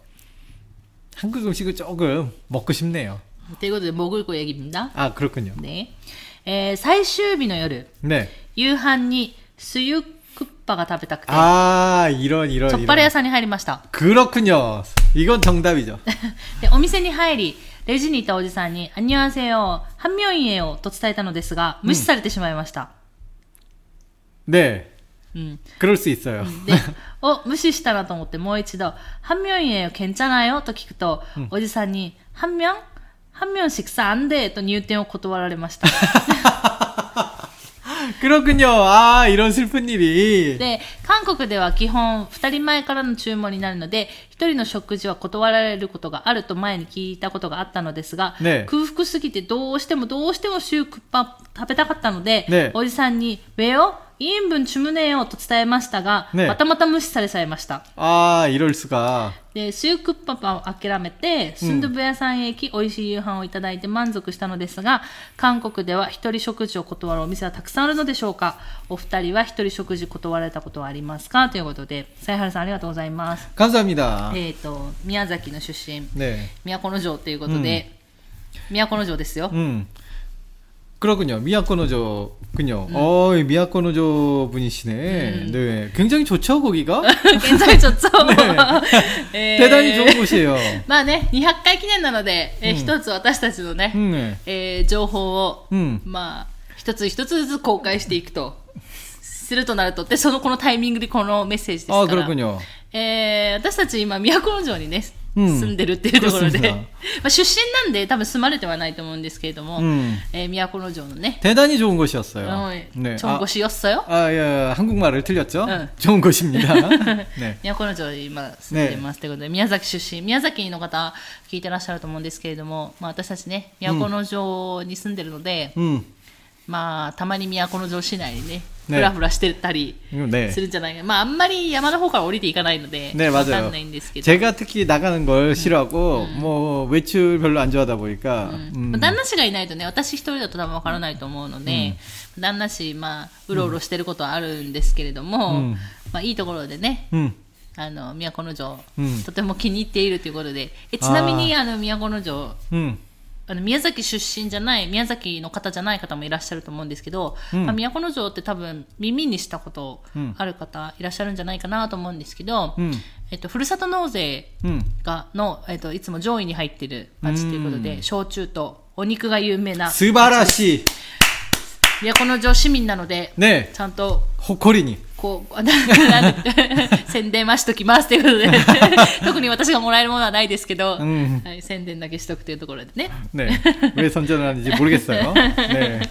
Speaker 2: 한국 음식을 조금 먹고 싶네요.
Speaker 1: ということで、潜る子얘기입니다。
Speaker 2: あ、그렇군요。
Speaker 1: ね。えー、最終日の夜、
Speaker 2: ね、夕
Speaker 1: 飯にスユクッパが食べたくて、
Speaker 2: あー、이런、이런、
Speaker 1: チョッパレ屋さんに入りました。
Speaker 2: 그렇군요。이건 정답이죠。
Speaker 1: で、お店に入り、レジにいたおじさんに、アンニュアンセヨ、ハンミョンイエヨと伝えたのですが、無視されてしまいました。
Speaker 2: うん、ね。うん。그럴 수 있어요。
Speaker 1: で、お、無視したなと思ってもう一度、ハンミョンイエヨ괜찮아요と聞くと、うん、おじさんに、ハンミョン한 명씩 안 돼と入店を断られました。
Speaker 2: 그렇군요. 아, 이런 슬픈 일이.
Speaker 1: で、韓国では基本ふたりまえからの注文になるので、ひとりの食事は断られることがあると前に聞いたことがあったのですが、ね、空腹すぎてどうしてもどうしてもシュークッパ食べたかったので、ね、おじさんに왜요?이 인분 주문해요と伝えましたが、ね、またまた無視されちゃいました。
Speaker 2: あー、이럴 수가。
Speaker 1: で、シュークッパパを諦めて、スンドゥブ屋さんへ行き、美味しい夕飯をいただいて満足したのですが、韓国では一人食事を断るお店はたくさんあるのでしょうか。お二人は一人食事断られたことはありますかということで、サイハルさんありがとうございます。
Speaker 2: 감사합니다。
Speaker 1: えっと、宮崎の出身、
Speaker 2: ね、
Speaker 1: 都城ということで、うん、都城ですよ。
Speaker 2: うん。그렇군요. 미야코노조군요. 음. 어, 미야코노조 분이시네. 음. 네, 굉장히 좋죠, 거기가?
Speaker 1: 굉장히 좋죠.
Speaker 2: 네. 대단히 좋은 곳이에요.
Speaker 1: まあね、にひゃっかい記念なので、えー、一つ私たちのね、うん、えー、情報を、うん、まあ一つ一つずつ公開していくとするとなると、でそのこのタイミングでこのメッセージですから。あ、
Speaker 2: 그렇군요。
Speaker 1: えー、私たち今都城にね。住んでるっていうところで、うん、まあ出身なんで多分住まれてはないと思うんですけれども、うん、えー、都城のね
Speaker 2: 대단히 좋은 곳이었어요.
Speaker 1: 어, 네. 좋은 아, 곳이었어요?
Speaker 2: 아, 예, 한국말을 틀렸죠? 응. 좋은 곳입니다.
Speaker 1: 네. 都城に今住んでますということで、宮崎出身、宮崎の方聞いてらっしゃると思うんですけれども、まあ私たちね、都城に住んでるので、うん、まあたまに都城市内にね、 ふらふらしてたりするんじゃないか、まああんまり山の方から降りていかないのでわかんないんですけど、
Speaker 2: 제가 특히 나가는 걸 싫어하고 뭐 외출 별로 안 좋아하다 보니까
Speaker 1: 旦那氏がいないとね、私一人だと多分わからないと思うので、旦那氏まあうろうろしてることはあるんですけれども、まあいいところでね、あの都城、とても気に入っているということで、えちなみにあの都城、あの宮崎出身じゃない、宮崎の方じゃない方もいらっしゃると思うんですけど、うん、まあ、都城って多分耳にしたことある方いらっしゃるんじゃないかなと思うんですけど、うん、えっと、ふるさと納税がの、えっと、いつも上位に入ってる町ということで、うん、焼酎とお肉が有名な。
Speaker 2: 素晴らしい。
Speaker 1: 都城市民なので、ね、ちゃんと
Speaker 2: 誇りに
Speaker 1: こう宣伝はしときますということで特に私がもらえるものはないですけど、うん、はい、宣伝だけしとくというところでね。
Speaker 2: ね、왜 선전하는지 모르겠어요. 네.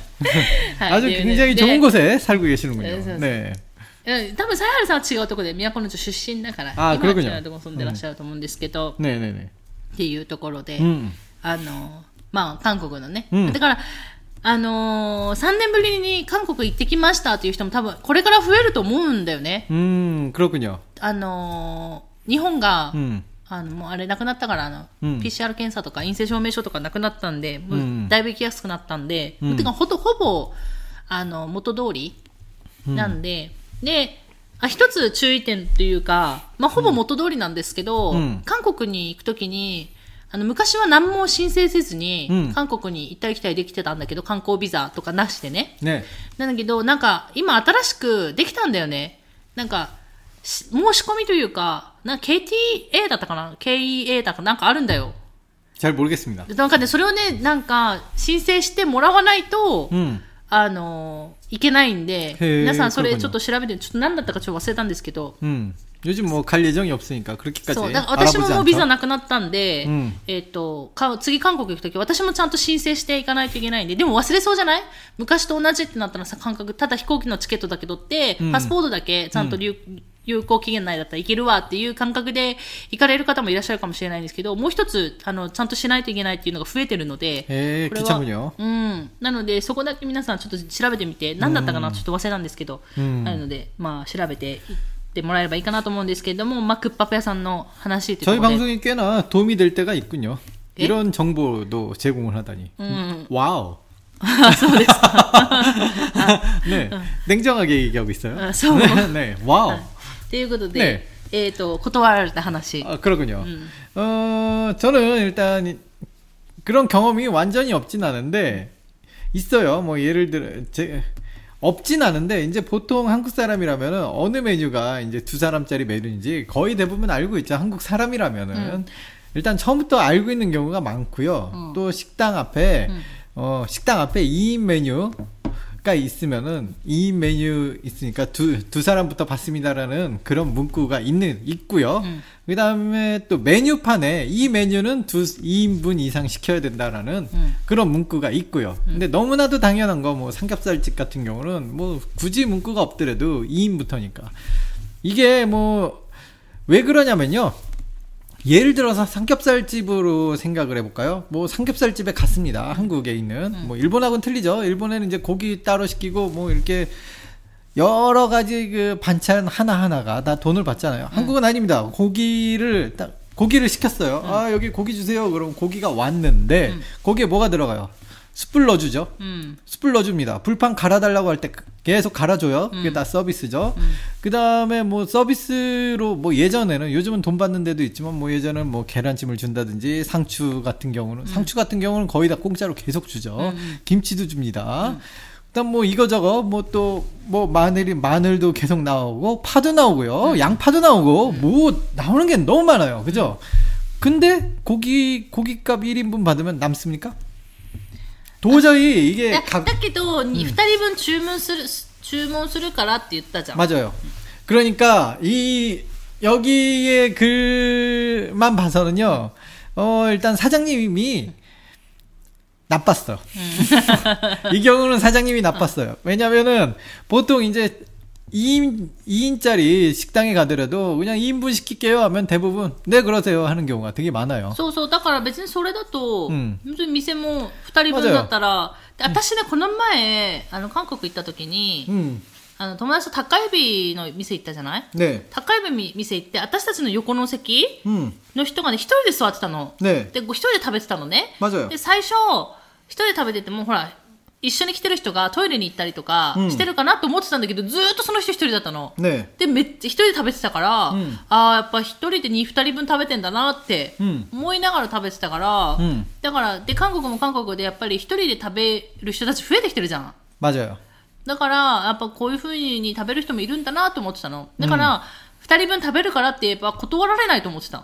Speaker 2: 아주 굉장히 좋은 곳에 살고 계시는군요. 네.
Speaker 1: 多分サイハルさんは違うところで都城出身だから、
Speaker 2: あ、
Speaker 1: 今は違うところ住んでらっしゃると思うんですけど、
Speaker 2: うん、ねえねえね
Speaker 1: えっていうところで、うん、あのまあ韓国のね、うん、だからあのー、さんねんぶりに韓国行ってきましたっていう人も多分これから増えると思うんだよね。
Speaker 2: うん、그렇군요。
Speaker 1: あのー、日本が、うん、あのもうあれなくなったからあの、うん、ピーシーアール 検査とか陰性証明書とかなくなったんで、うん、だいぶ行きやすくなったんで、うん、てかほとほぼあの元通りなんで、うん、であ一つ注意点というか、まあ、ほぼ元通りなんですけど、うん、韓国に行くときにあの昔は何も申請せずに、うん、韓国に行ったり来たりできてたんだけど、観光ビザとかなしでね。ね。なんだけど、なんか今新しくできたんだよね。なんか、申し込みというか、なんか ケーティーエー だったかな ?ケーイーエー だかなんかあるんだよ。
Speaker 2: 잘 모르겠습니다。
Speaker 1: なんかね、それをね、なんか申請してもらわないと、うん、あの、いけないんで、皆さんそれちょっと調べて、ちょっと何だったかちょっと忘れたんですけど、うん、
Speaker 2: 요즘 뭐 갈 예정이 없으니까 그렇게까지
Speaker 1: そうだから私ももうビザなくなったんで、うん、えっとか次韓国行くとき私もちゃんと申請していかないといけないんで、でも忘れそうじゃない？昔と同じってなったらさ、感覚ただ飛行機のチケットだけ取って、うん、パスポートだけちゃんと有、うん、有効期限内だったらいけるわっていう感覚で行かれる方もいらっしゃるかもしれないんですけど、もう一つあのちゃんとしないといけないっていうのが増えてるので、
Speaker 2: へー、
Speaker 1: これは、うん、なのでそこだけ皆さんちょっと調べてみて、何だったかな、うん、ちょっと忘れたんですけど、うん、なのでまあ調べてってもらえればいいかなと思うんですけれども、まあ、クッパペ屋さんの話ということで
Speaker 2: 저희 방송이 꽤나 도움이 될 때가 있군요. 이런 정보도 제공을 하다니. 음. 와우.
Speaker 1: 아, そうですか.
Speaker 2: 네, 냉정하게 얘기하고 있어요.
Speaker 1: 아,
Speaker 2: 네, 네, 와우.
Speaker 1: ということで、ね、えっと断られた話.
Speaker 2: 아, 그렇군요. 음. 어, 저는 일단 그런 경험이 완전히 없진 않은데 있어요. 뭐 예를 들어 제 없진 않은데 이제 보통 한국 사람이라면은 어느 메뉴가 이제 두 사람짜리 메뉴인지 거의 대부분 알고 있죠. 한국 사람이라면은 음. 일단 처음부터 알고 있는 경우가 많고요. 음. 또 식당 앞에 음. 어 식당 앞에 이 인 메뉴가 있으면은 이 인 메뉴 있으니까 두 두 사람부터 받습니다라는 그런 문구가 있는 있고요. 음. 그다음에 또 메뉴판에 이 메뉴는 두 이 인분 이상 시켜야 된다라는 음. 그런 문구가 있고요. 음. 근데 너무나도 당연한 거 뭐 삼겹살집 같은 경우는 뭐 굳이 문구가 없더라도 이 인부터니까. 이게 뭐 왜 그러냐면요. 예를 들어서 삼겹살집으로 생각을 해볼까요? 뭐 삼겹살집에 갔습니다. 한국에 있는. 음. 뭐 일본하고는 틀리죠. 일본에는 이제 고기 따로 시키고 뭐 이렇게 여러 가지 그 반찬 하나하나가 다 돈을 받잖아요. 음. 한국은 아닙니다. 고기를 딱 고기를 시켰어요. 음. 아, 여기 고기 주세요. 그럼 고기가 왔는데 음. 거기에 뭐가 들어가요? 숯불 넣어주죠. 음. 숯불 넣어줍니다. 불판 갈아달라고 할 때 계속 갈아줘요. 그게 음. 다 서비스죠. 음. 그 다음에 뭐 서비스로 뭐 예전에는 요즘은 돈 받는 데도 있지만 뭐 예전에는 뭐 계란찜을 준다든지 상추 같은 경우는 음. 상추 같은 경우는 거의 다 공짜로 계속 주죠. 음. 김치도 줍니다. 음. 그다음 뭐 이거저거 뭐 또 뭐 마늘이 마늘도 계속 나오고 파도 나오고요. 음. 양파도 나오고 음. 뭐 나오는 게 너무 많아요. 그죠? 근데 고기 고기값 일 인분 받으면 남습니까? 도저히 이게
Speaker 1: だけどにふたりぶん注文する注文するからって言ったじゃん.
Speaker 2: 맞아요. 그러니까 이 여기의 글만 봐서는요. 어 일단 사장님이 나빴어요. 이 경우는 사장님이 나빴어요. 왜냐면은 보통 이제 이 인, 이 인짜리 식당에 가더라도 그냥 이 인분 시킬게요 하면 대부분 네 그러세요 하는 경우가 되게 많아요.
Speaker 1: そうそうだから別にそれだと本当に店もふたりぶんだったら私ねこの前あの韓国行った時にあの友達と高指の店行ったじゃない、
Speaker 2: ね、
Speaker 1: 高指店行って私たちの横の席の人がね一人で座ってたの、
Speaker 2: ね、
Speaker 1: で一人で食べてたのね。
Speaker 2: で
Speaker 1: 最初一人で食べててもほら一緒に来てる人がトイレに行ったりとかしてるかなと思ってたんだけど、うん、ずーっとその人一人だったの、
Speaker 2: ね、
Speaker 1: でめっちゃ一人で食べてたから、うん、あーやっぱ一人でに、二人分食べてんだなって思いながら食べてたから、うん、だからで韓国も韓国でやっぱり一人で食べる人たち増えてきてるじゃん。
Speaker 2: 맞아요。
Speaker 1: だからやっぱこういう風に食べる人もいるんだなと思ってたの。だから二、うん、人分食べるからって言えば断られないと思ってた。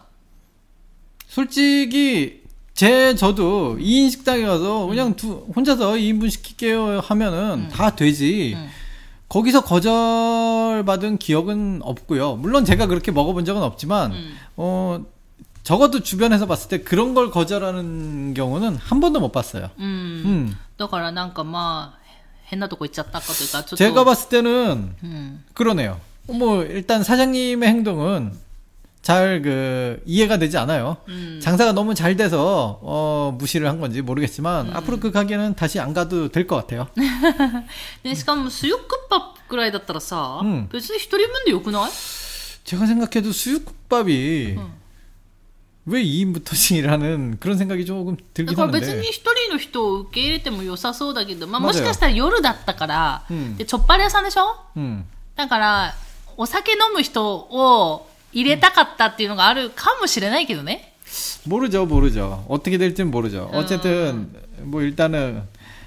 Speaker 2: 솔직히 제 저도 이 인 식당에 가서 그냥 음. 두, 혼자서 이 인분 시킬게요 하면은 음. 다 되지. 음. 거기서 거절받은 기억은 없고요. 물론 제가 그렇게 먹어본 적은 없지만 음. 어 적어도 주변에서 봤을 때 그런 걸 거절하는 경우는 한 번도 못 봤어요.
Speaker 1: 음. 음. だからなんかまあ変なとこ行っちゃったかというかちょっと
Speaker 2: 제가 봤을 때는 음. 그러네요. 뭐 일단 사장님의 행동은 잘 그 이해가 되지 않아요. 음. 장사가 너무 잘 돼서 어 무시를 한 건지 모르겠지만 음. 앞으로 그 가게는 다시 안 가도 될 것 같아요.
Speaker 1: でしかも수육국밥ぐらいだったらさ、 음. 別に一人分でよくない?
Speaker 2: 제가 생각해도 수육국밥이 음. 왜 이 인부터씩이라는 그런 생각이 조금 들긴 하는데.
Speaker 1: 別に一人の人を受け入れても良さそうだけど、まあもしかしたら夜だったから、でチョッパレ屋さんでしょ？だからお酒飲む人を入れたかったっていうのがあるかもしれないけどね。
Speaker 2: 모르죠, 모르죠. 어떻게 될지는 모르죠. 어쨌든 뭐 일단은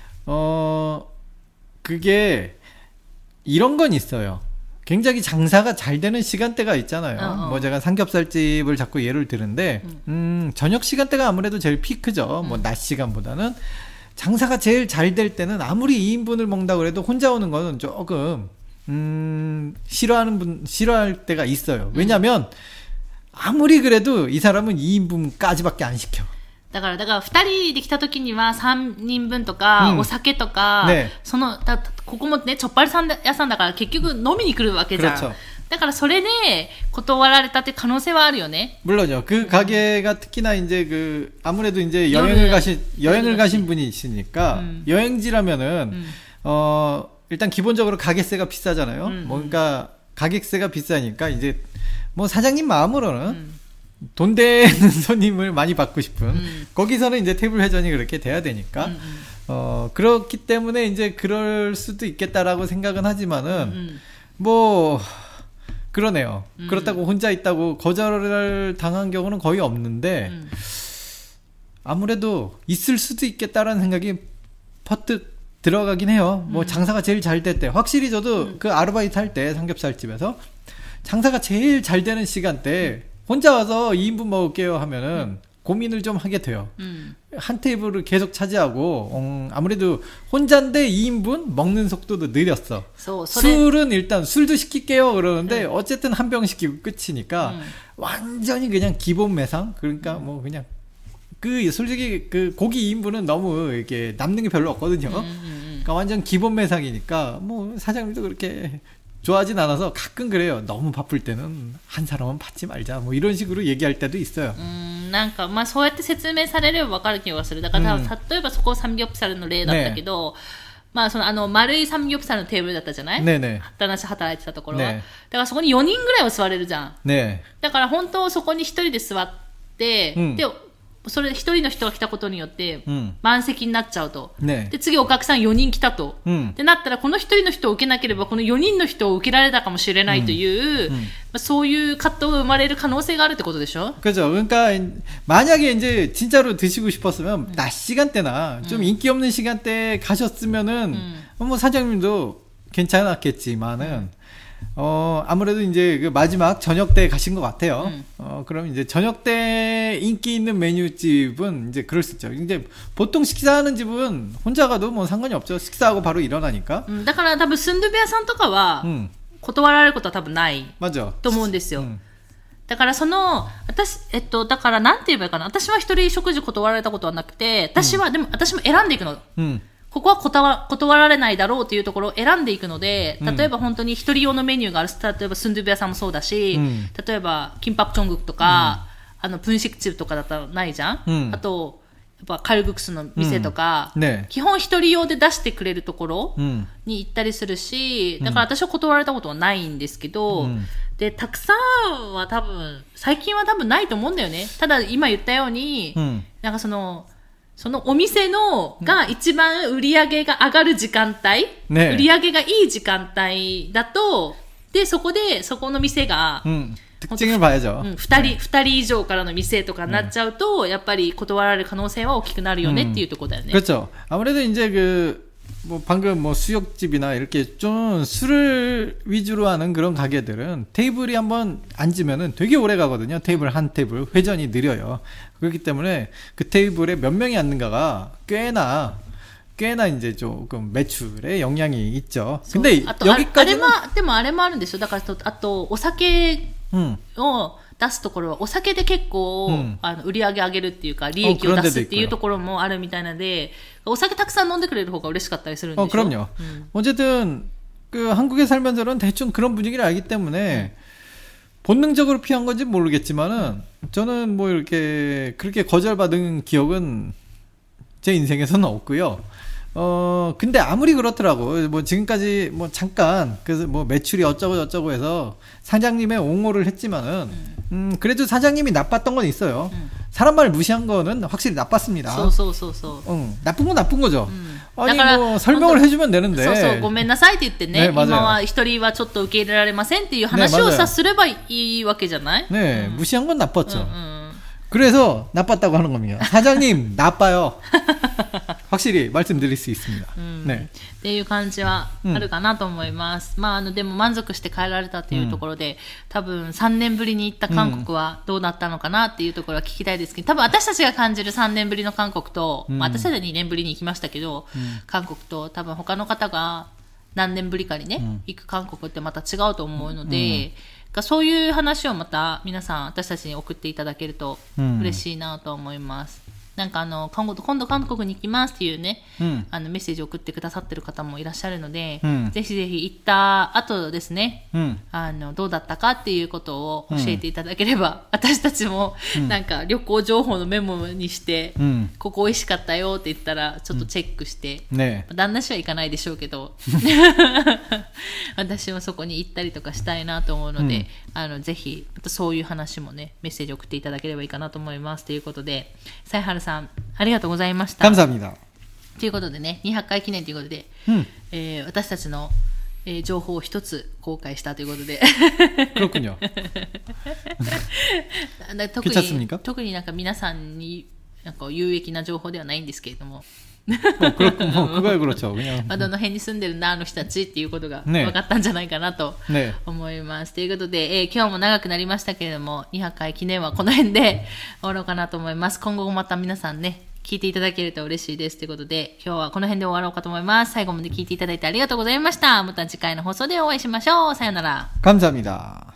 Speaker 2: 어 그게 이런 건 있어요. 굉장히 장사가 잘 되는 시간대가 있잖아요. 어, 어. 뭐 제가 삼겹살집을 자꾸 예를 드는데 음. 음, 저녁 시간대가 아무래도 제일 피크죠. 음. 뭐 낮 시간보다는 장사가 제일 잘 될 때는 아무리 이 인분을 먹는다고 해도 혼자 오는 거는 조금 음, 싫어하는 분 싫어할 때가 있어요. 왜냐면 음. 아무리 그래도 이 사람은 이 인분까지밖에 안 시켜.
Speaker 1: だから、だから、二人で来た時には三人分とか、うん、お酒とか、ね、その、だ、ここもね、チョッパリ屋さんだから結局飲みに来るわけじゃん。그렇죠。だからそれで断られたって可能性はあるよね。
Speaker 2: 물론요. 그 가게가 특히나 이제 그 아무래도 이제 여행을 가신 여행을 가신 분이 있으니까 음. 여행지라면은 음. 어 일단 기본적으로 가게세가 비싸잖아요. 음. 뭔가 가격세가 비싸니까 이제 뭐 사장님 마음으로는 음. 돈 되는 손님을 많이 받고 싶은 음. 거기서는 이제 테이블 회전이 그렇게 돼야 되니까 음, 음. 어 그렇기 때문에 이제 그럴 수도 있겠다라고 생각은 하지만은 음. 뭐 그러네요. 음. 그렇다고 혼자 있다고 거절을 당한 경우는 거의 없는데 음. 아무래도 있을 수도 있겠다라는 생각이 퍼뜩 들어가긴 해요. 뭐 음. 장사가 제일 잘 될 때 확실히 저도 음. 그 아르바이트 할 때 삼겹살집에서 장사가 제일 잘 되는 시간대 음. 혼자 와서 이 인분 먹을게요 하면은 음. 고민을 좀 하게 돼요. 음. 한 테이블을 계속 차지하고 음, 아무래도 혼자인데 이 인분 먹는 속도도 느렸어. So, 술은 일단 술도 시킬게요 그러는데 음. 어쨌든 한 병 시키고 끝이니까 음. 완전히 그냥 기본 매상. 그러니까 음. 뭐 그냥 그 솔직히 그 고기 이 인분은 너무 이렇게 남는 게 별로 없거든요. 음, 음. 그러니까 완전 기본 매상이니까 뭐 사장님도 그렇게 좋아하진 않아서 가끔 그래요. 너무 바쁠 때는 한 사람은 받지 말자. 뭐 이런 식으로 얘기할 때도 있어요.
Speaker 1: 음, なんかまあそうやって説明されればわかる気がする。だから例えばそこサムギョプサルの例だったけど、まあそのあの丸いサムギョプサルのテーブルだったじゃない？ねね。私働いてたところは。だからそこによにんぐらいは座れるじゃん。ね。だから本当そこにひとりで座って、でそれ一人の人が来たことによって満席になっちゃうと、うんね、で次お客さんよにん来たと、うん、でなったらこの一人の人を受けなければこのよにんの人を受けられたかもしれないという、うんうんまあ、そういう葛藤が生まれる可能性があるってことでしょ?
Speaker 2: 그렇죠. 그러니까 만약에 이제 진짜로 드시고 싶었으면 음. 낮 시간대나 좀 음. 인기 없는 시간대에 가셨으면은 음. 뭐 사장님도 괜찮았겠지만은 음. 어, 아무래도 이제 그 마지막 저녁 때 가신 것 같아요. 음. 어, 그럼 이제 저녁 때 인기 있는 메뉴집은 이제 그럴 수 있죠. 이제 보통 식사하는 집은 혼자 가도 뭐 상관이 없죠. 식사하고 바로 일어나니까.
Speaker 1: 음, だから多分スンドゥベ屋さんとかは断られることは多分ないと思うんですよ。だからその私えっとだからなんて言えばいいかな。私は一人食事断られたことはなくて、私は、うん、でも私も選んでいくの。うんここは断、断られないだろうというところを選んでいくので、例えば本当に一人用のメニューがある、例えばスンドゥブ屋さんもそうだし、うん、例えばキンパプチョングクとか、うん、あのプンシクチブとかだったらないじゃん、うん、あとやっぱカルグクスの店とか、うんね、基本一人用で出してくれるところに行ったりするし、うん、だから私は断られたことはないんですけど、うん、で、たくさんは多分、最近は多分ないと思うんだよね。ただ今言ったように、うん、なんかその、そのお店のが一番売り上げが上がる時間帯、ね、売り上げがいい時間帯だと、で、そこで、そこの店が、うん
Speaker 2: 특징을 봐야죠.
Speaker 1: 응, 二人, 二人以上からの店とかになっちゃうと、やっぱり断られる可能性は大きくなるよねっていうところだよね。
Speaker 2: 그렇죠. 아무래도 이제 그, 뭐 방금 뭐 수육집이나 이렇게 좀 술을 위주로 하는 그런 가게들은 테이블이 한번 앉으면은 되게 오래 가거든요. 테이블 한 테이블 회전이 느려요. 그렇기 때문에 그 테이블에 몇 명이 앉는가가 꽤나 꽤나 이제 조금 매출에 영향이 있죠. 근데 여기까지는
Speaker 1: でもあれもあるんですよ。だからあとお酒を出すところはお酒で結構、うん、あの売り上げ上げるっていうか利益を出すっていうところもあるみたいなので、お酒たくさん飲んでくれる方が嬉しかったりするんでしょ。
Speaker 2: 어, 그럼요. 음. 어쨌든 그 한국에 살면서는 대충 그런 분위기를 알기 때문에 음. 본능적으로 피한 건지 모르겠지만은 저는 뭐 이렇게 그렇게 거절받은 기억은 제 인생에서는 없고요. 어, 근데 아무리 그렇더라고. 뭐 지금까지 뭐 잠깐, 그래서 뭐 매출이 어쩌고 저쩌고 해서 사장님의 옹호를 했지만은, 음, 그래도 사장님이 나빴던 건 있어요. 음. 사람 말 무시한 거는 확실히 나빴습니다.
Speaker 1: 소소소소.
Speaker 2: 응, 나쁜 건 나쁜 거죠. 음. 아니 뭐 설명을 해주면 되는데.
Speaker 1: そうそう、ごめんなさいって言ってね、今は一人はちょっと受け入れられませんっていう話をさすればいいわけじゃない?
Speaker 2: 네, 음. 무시한 건 나빴죠. 음, 음. 그래서 나빴다고 하는 겁니다. 사장님 나빠요. 확실히 말씀드릴 수 있습니다. 음, 네.
Speaker 1: っていう感じはあるかなと思います。うん、まああのでも満足して帰られたっていうところで、うん、多分さんねんぶりに行った韓国はどうだったのかなっていうところは聞きたいですけど、多分私たちが感じるさんねんぶりの韓国と、うん、まあ、私たちはにねんぶりに行きましたけど、うん、韓国と多分他の方が何年ぶりかにね、うん、行く韓国ってまた違うと思うので。うん、そういう話をまた皆さん私たちに送っていただけると嬉しいなと思います。うん、なんかあの今度韓国に行きますっていうね、うん、あのメッセージを送ってくださってる方もいらっしゃるので、うん、ぜひぜひ行った後ですね、うん、あのどうだったかっていうことを教えていただければ、うん、私たちもなんか旅行情報のメモにして、うん、ここ美味しかったよって言ったらちょっとチェックして、うんね、旦那氏は行かないでしょうけど私もそこに行ったりとかしたいなと思うので、うん、あのぜひまたそういう話もねメッセージ送っていただければいいかなと思いますということで、サイハルさんありがとうございました。
Speaker 2: 감사합니다。
Speaker 1: ということでね、にひゃっかい記念ということで、うんえー、私たちの、えー、情報を一つ公開したということで。
Speaker 2: 그렇군요。
Speaker 1: 特に特になんか皆さんになんか有益な情報ではないんですけれども。まあどの辺に住んでるんだあの人たちっていうことが分かったんじゃないかなと思います。ね、ということで、えー、今日も長くなりましたけれども、にひゃっかい記念はこの辺で終わろうかなと思います。今後もまた皆さんね、聞いていただけると嬉しいです。ということで、今日はこの辺で終わろうかと思います。最後まで聞いていただいてありがとうございました。また次回の放送でお会いしましょう。さよなら。
Speaker 2: 감사합니다。